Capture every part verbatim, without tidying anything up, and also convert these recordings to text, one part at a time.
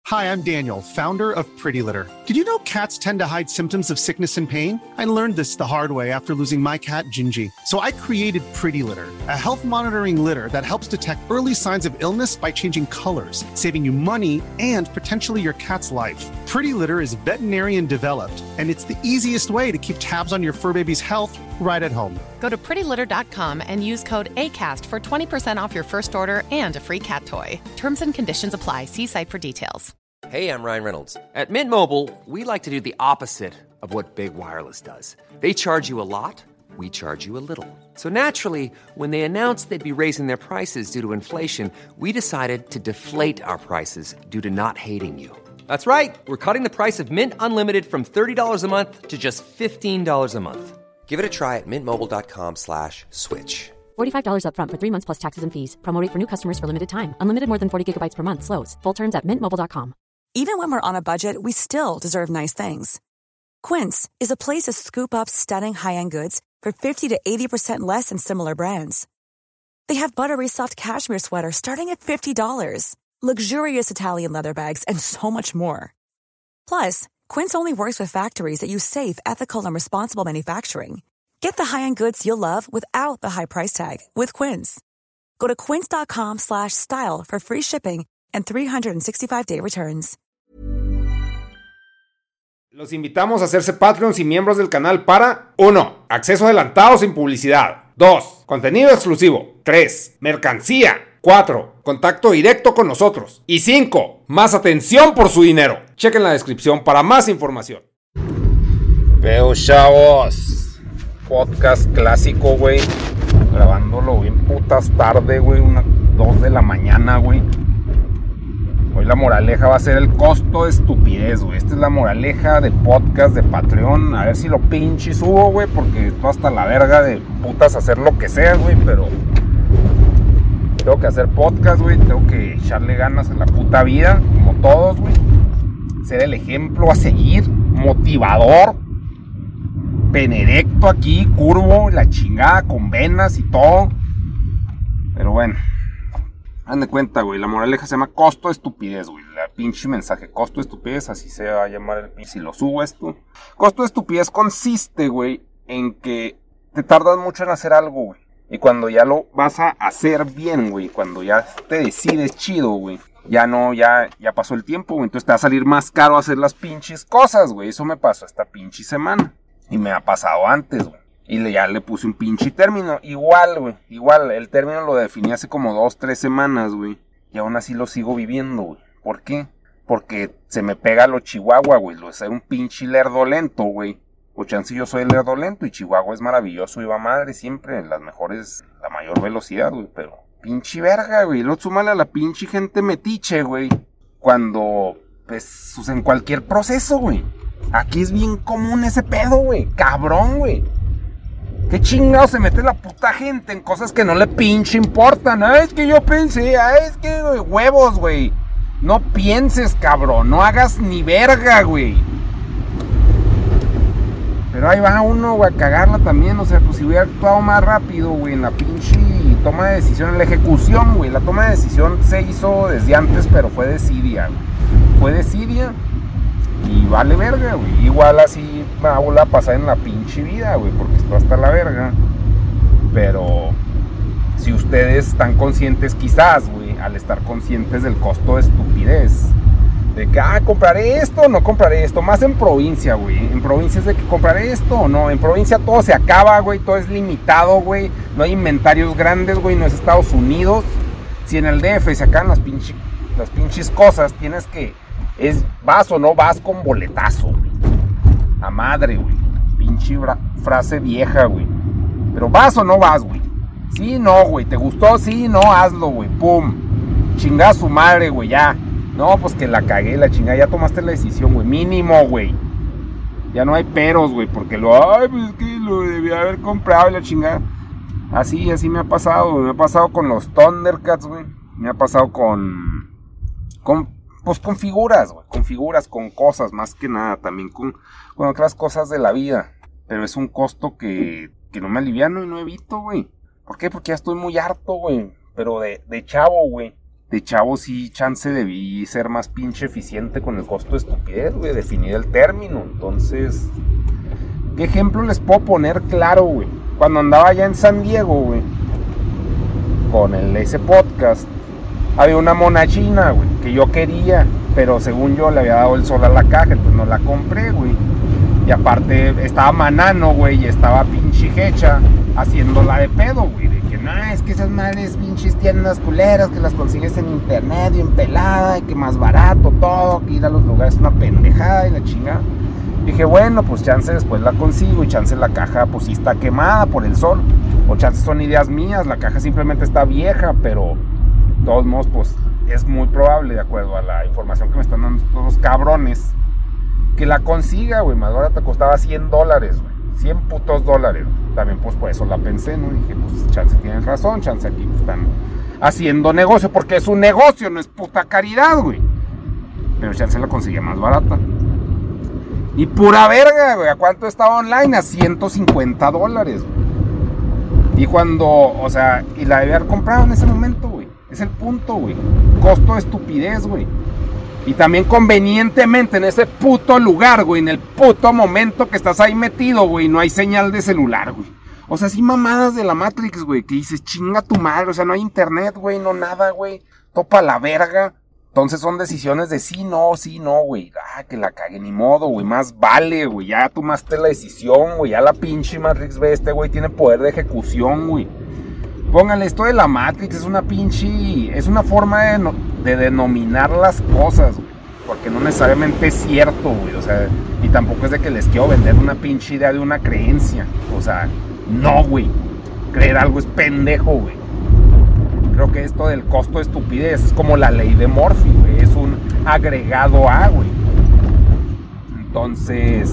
Hi, I'm Daniel, founder of Pretty Litter. Did you know cats tend to hide symptoms of sickness and pain? I learned this the hard way after losing my cat, Gingy. So I created Pretty Litter, a health monitoring litter that helps detect early signs of illness by changing colors, saving you money and potentially your cat's life. Pretty Litter is veterinarian developed, and it's the easiest way to keep tabs on your fur baby's health right at home. Go to pretty litter dot com and use code ACAST for twenty percent off your first order and a free cat toy. Terms and conditions apply. See site for details. Hey, I'm Ryan Reynolds. At Mint Mobile, we like to do the opposite of what Big Wireless does. They charge you a lot, we charge you a little. So naturally, when they announced they'd be raising their prices due to inflation, we decided to deflate our prices due to not hating you. That's right. We're cutting the price of Mint Unlimited from thirty dollars a month to just fifteen dollars a month. Give it a try at mintmobile.com slash switch. forty-five dollars up front for three months plus taxes and fees. Promo rate for new customers for limited time. Unlimited more than forty gigabytes per month slows. Full terms at mint mobile dot com. Even when we're on a budget, we still deserve nice things. Quince is a place to scoop up stunning high-end goods for fifty to eighty percent less than similar brands. They have buttery soft cashmere sweaters starting at fifty dollars, luxurious Italian leather bags, and so much more. Plus, Quince only works with factories that use safe, ethical, and responsible manufacturing. Get the high-end goods you'll love without the high price tag with Quince. Go to quince.com slash style for free shipping and three sixty-five day returns. Los invitamos a hacerse Patreons y miembros del canal para uno. Acceso adelantado sin publicidad. dos. Contenido exclusivo. tres. Mercancía. cuatro. Contacto directo con nosotros. Y cinco. Más atención por su dinero. Chequen la descripción para más información. Veo, chavos. Podcast clásico, güey. Grabándolo bien putas tarde, güey. Unas dos de la mañana, güey. Hoy la moraleja va a ser el costo de estupidez, güey. Esta es la moraleja del podcast de Patreon. A ver si lo pinche subo, güey, porque estoy hasta la verga de putas hacer lo que sea, güey, pero tengo que hacer podcast, güey. Tengo que echarle ganas a la puta vida, como todos, güey. Ser el ejemplo a seguir, motivador, pene erecto aquí, curvo, la chingada, con venas y todo. Pero bueno. Hagan de cuenta, güey, la moraleja se llama costo de estupidez, güey. La pinche mensaje, costo de estupidez, así se va a llamar el pinche. Si lo subo esto. Costo de estupidez consiste, güey, en que te tardas mucho en hacer algo, güey. Y cuando ya lo vas a hacer bien, güey, cuando ya te decides chido, güey, ya no, ya, ya pasó el tiempo, güey. Entonces te va a salir más caro hacer las pinches cosas, güey. Eso me pasó esta pinche semana. Y me ha pasado antes, güey. Y le, ya le puse un pinche término. Igual, güey. Igual, el término lo definí hace como dos, tres semanas, güey. Y aún así lo sigo viviendo, güey. ¿Por qué? Porque se me pega lo chihuahua, güey. Lo soy un pinche lerdo lento, güey. O chance yo soy el lerdo lento y Chihuahua es maravilloso y va madre siempre. Las mejores, la mayor velocidad, güey. Pero pinche verga, güey. Lo súmale a la pinche gente metiche, güey. Cuando, pues, en cualquier proceso, güey. Aquí es bien común ese pedo, güey. Cabrón, güey. ¿Qué chingado se mete la puta gente en cosas que no le pinche importan? Ah, es que yo pensé, ah, es que, güey, huevos, güey. No pienses, cabrón, no hagas ni verga, güey. Pero ahí va uno, güey, a cagarla también, o sea, pues si hubiera actuado más rápido, güey, en la pinche toma de decisión, en la ejecución, güey. La toma de decisión se hizo desde antes, pero fue desidia, güey. Fue desidia. Y vale verga, güey. Igual así me va a volver a pasar en la pinche vida, güey, porque esto hasta la verga. Pero si ustedes están conscientes, quizás, güey, al estar conscientes del costo de estupidez, de que, ah, compraré esto o no compraré esto, más en provincia, güey. En provincia es de que compraré esto o no. En provincia todo se acaba, güey, todo es limitado, güey. No hay inventarios grandes, güey, no es Estados Unidos. Si en el D F se acaban las, pinche, las pinches cosas, tienes que... Es, vas o no vas con boletazo, güey. A madre, güey. Pinche bra- frase vieja, güey. Pero vas o no vas, güey. Sí, no, güey. ¿Te gustó? Sí, no, hazlo, güey. Pum. Chingada su madre, güey, ya. No, pues que la cagué, la chingada. Ya tomaste la decisión, güey. Mínimo, güey. Ya no hay peros, güey. Porque lo, ay, pues es que lo debía haber comprado, la chingada. Así, así me ha pasado, güey. Me ha pasado con los Thundercats, güey. Me ha pasado con... Con... Pues con figuras, güey, con figuras, con cosas, más que nada, también con, con otras cosas de la vida. Pero es un costo que, que no me aliviano y no evito, güey. ¿Por qué? Porque ya estoy muy harto, güey. Pero de, de chavo, güey. de chavo sí, chance debí ser más pinche eficiente con el costo de estupidez, güey, definir el término. Entonces, ¿qué ejemplo les puedo poner claro, güey? Cuando andaba allá en San Diego, güey, con el, ese podcast, había una mona china, güey, que yo quería, pero según yo le había dado el sol a la caja, entonces no la compré, güey. Y aparte estaba Manano, güey, y estaba pinche Hecha haciéndola de pedo, güey. De que no, es que esas madres pinches tiendas culeras que las consigues en internet bien pelada, y que más barato todo, que ir a los lugares es una pendejada y la chingada. Dije, bueno, pues chance después la consigo y chance la caja pues sí está quemada por el sol. O chance son ideas mías, la caja simplemente está vieja, pero de todos modos pues es muy probable, de acuerdo a la información que me están dando todos los cabrones, que la consiga, güey. Más ahora te costaba cien dólares, güey. cien putos dólares. También pues por eso la pensé, ¿no? Dije, pues chance tienes razón, chance aquí pues, están haciendo negocio, porque es un negocio, no es puta caridad, güey. Pero chance la conseguía más barata. Y pura verga, güey. ¿A cuánto estaba online? A ciento cincuenta dólares, güey. Y cuando, o sea, y la debía haber comprado en ese momento, güey. Es el punto, güey. Costo de estupidez, güey. Y también convenientemente en ese puto lugar, güey, en el puto momento que estás ahí metido, güey, no hay señal de celular, güey. O sea, sí mamadas de la Matrix, güey, que dices, chinga tu madre, o sea, no hay internet, güey, no nada, güey, topa la verga. Entonces son decisiones de sí, no, sí, no, güey, ah, que la cague, ni modo, güey, más vale, güey, ya tomaste la decisión, güey, ya la pinche Matrix ve, este güey tiene poder de ejecución, güey. Pónganle, esto de la Matrix es una pinche, es una forma de, no, de denominar las cosas, güey, porque no necesariamente es cierto, güey, o sea, y tampoco es de que les quiero vender una pinche idea de una creencia, o sea, no, güey, creer algo es pendejo, güey. Creo que esto del costo de estupidez es como la ley de Murphy, güey, es un agregado a, güey. Entonces,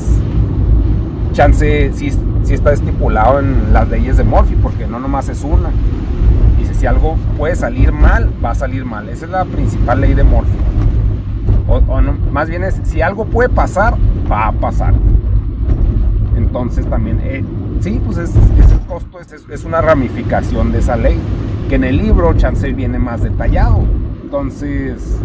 chance sí, sí está estipulado en las leyes de Murphy, porque no nomás es una. Dice, si algo puede salir mal, va a salir mal. Esa es la principal ley de Murphy. O, o no, más bien es, si algo puede pasar, va a pasar. Entonces también, eh, sí, pues es, es el costo, es, es una ramificación de esa ley, que en el libro chance viene más detallado. Entonces,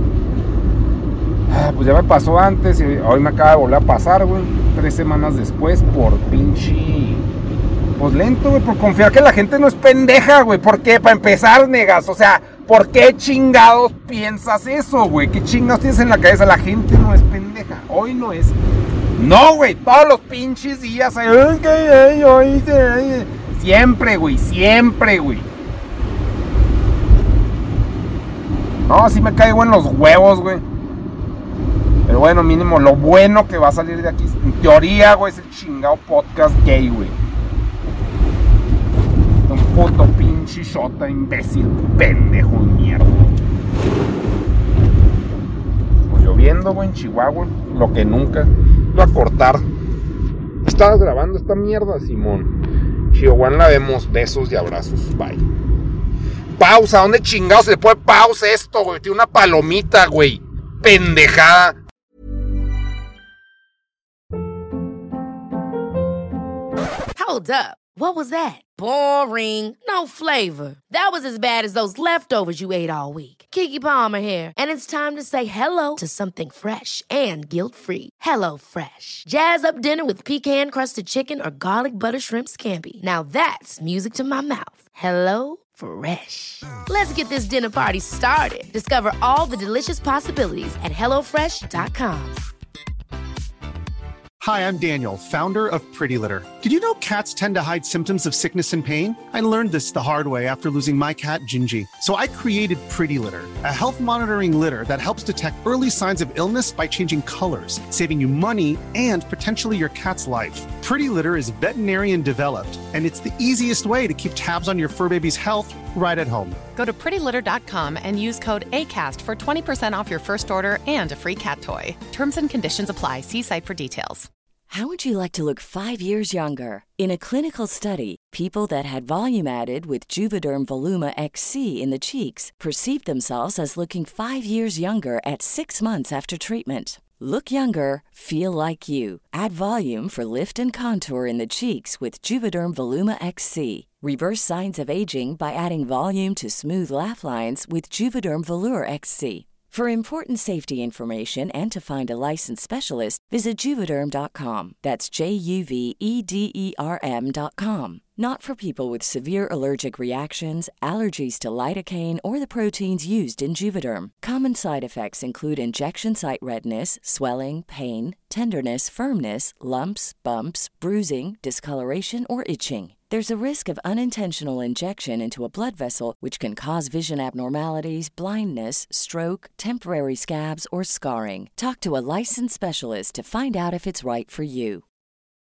ah, pues ya me pasó antes y hoy me acaba de volver a pasar, güey, tres semanas después, por pinche, pues lento, güey, por confiar que la gente no es pendeja, güey. ¿Por qué? Para empezar, negas, o sea, ¿por qué chingados piensas eso, güey? ¿Qué chingados tienes en la cabeza? La gente no es pendeja, hoy no es. No, güey, todos los pinches días, ay, ay, ay, ay, siempre, güey, siempre, güey. No, sí me caigo en los huevos, güey. Pero bueno, mínimo, lo bueno que va a salir de aquí, en teoría, güey, es el chingado podcast gay, güey. Un puto pinche shota, imbécil, pendejo, mierda. Pues lloviendo, güey, en Chihuahua, lo que nunca. Lo a cortar. Estabas grabando esta mierda, Simón. Chihuahua, la vemos, besos y abrazos, bye. Pausa, ¿dónde chingados se le pone pausa esto, güey? Tiene una palomita, güey. Pendejada. Hold up. What was that? Boring. No flavor. That was as bad as those leftovers you ate all week. Keke Palmer here. And it's time to say hello to something fresh and guilt-free. Hello Fresh. Jazz up dinner with pecan-crusted chicken or garlic butter shrimp scampi. Now that's music to my mouth. Hello Fresh. Let's get this dinner party started. Discover all the delicious possibilities at hello fresh dot com. Hi, I'm Daniel, founder of Pretty Litter. Did you know cats tend to hide symptoms of sickness and pain? I learned this the hard way after losing my cat, Gingy. So I created Pretty Litter, a health monitoring litter that helps detect early signs of illness by changing colors, saving you money and potentially your cat's life. Pretty Litter is veterinarian developed, and it's the easiest way to keep tabs on your fur baby's health right at home. Go to pretty litter dot com and use code ACAST for twenty percent off your first order and a free cat toy. Terms and conditions apply. See site for details. How would you like to look five years younger? In a clinical study, people that had volume added with Juvederm Voluma X C in the cheeks perceived themselves as looking five years younger at six months after treatment. Look younger, feel like you. Add volume for lift and contour in the cheeks with Juvederm Voluma X C. Reverse signs of aging by adding volume to smooth laugh lines with Juvederm Volure X C. For important safety information and to find a licensed specialist, visit Juvederm dot com. That's J U V E D E R M dot com. Not for people with severe allergic reactions, allergies to lidocaine, or the proteins used in Juvederm. Common side effects include injection site redness, swelling, pain, tenderness, firmness, lumps, bumps, bruising, discoloration, or itching. There's a risk of unintentional injection into a blood vessel, which can cause vision abnormalities, blindness, stroke, temporary scabs, or scarring. Talk to a licensed specialist to find out if it's right for you.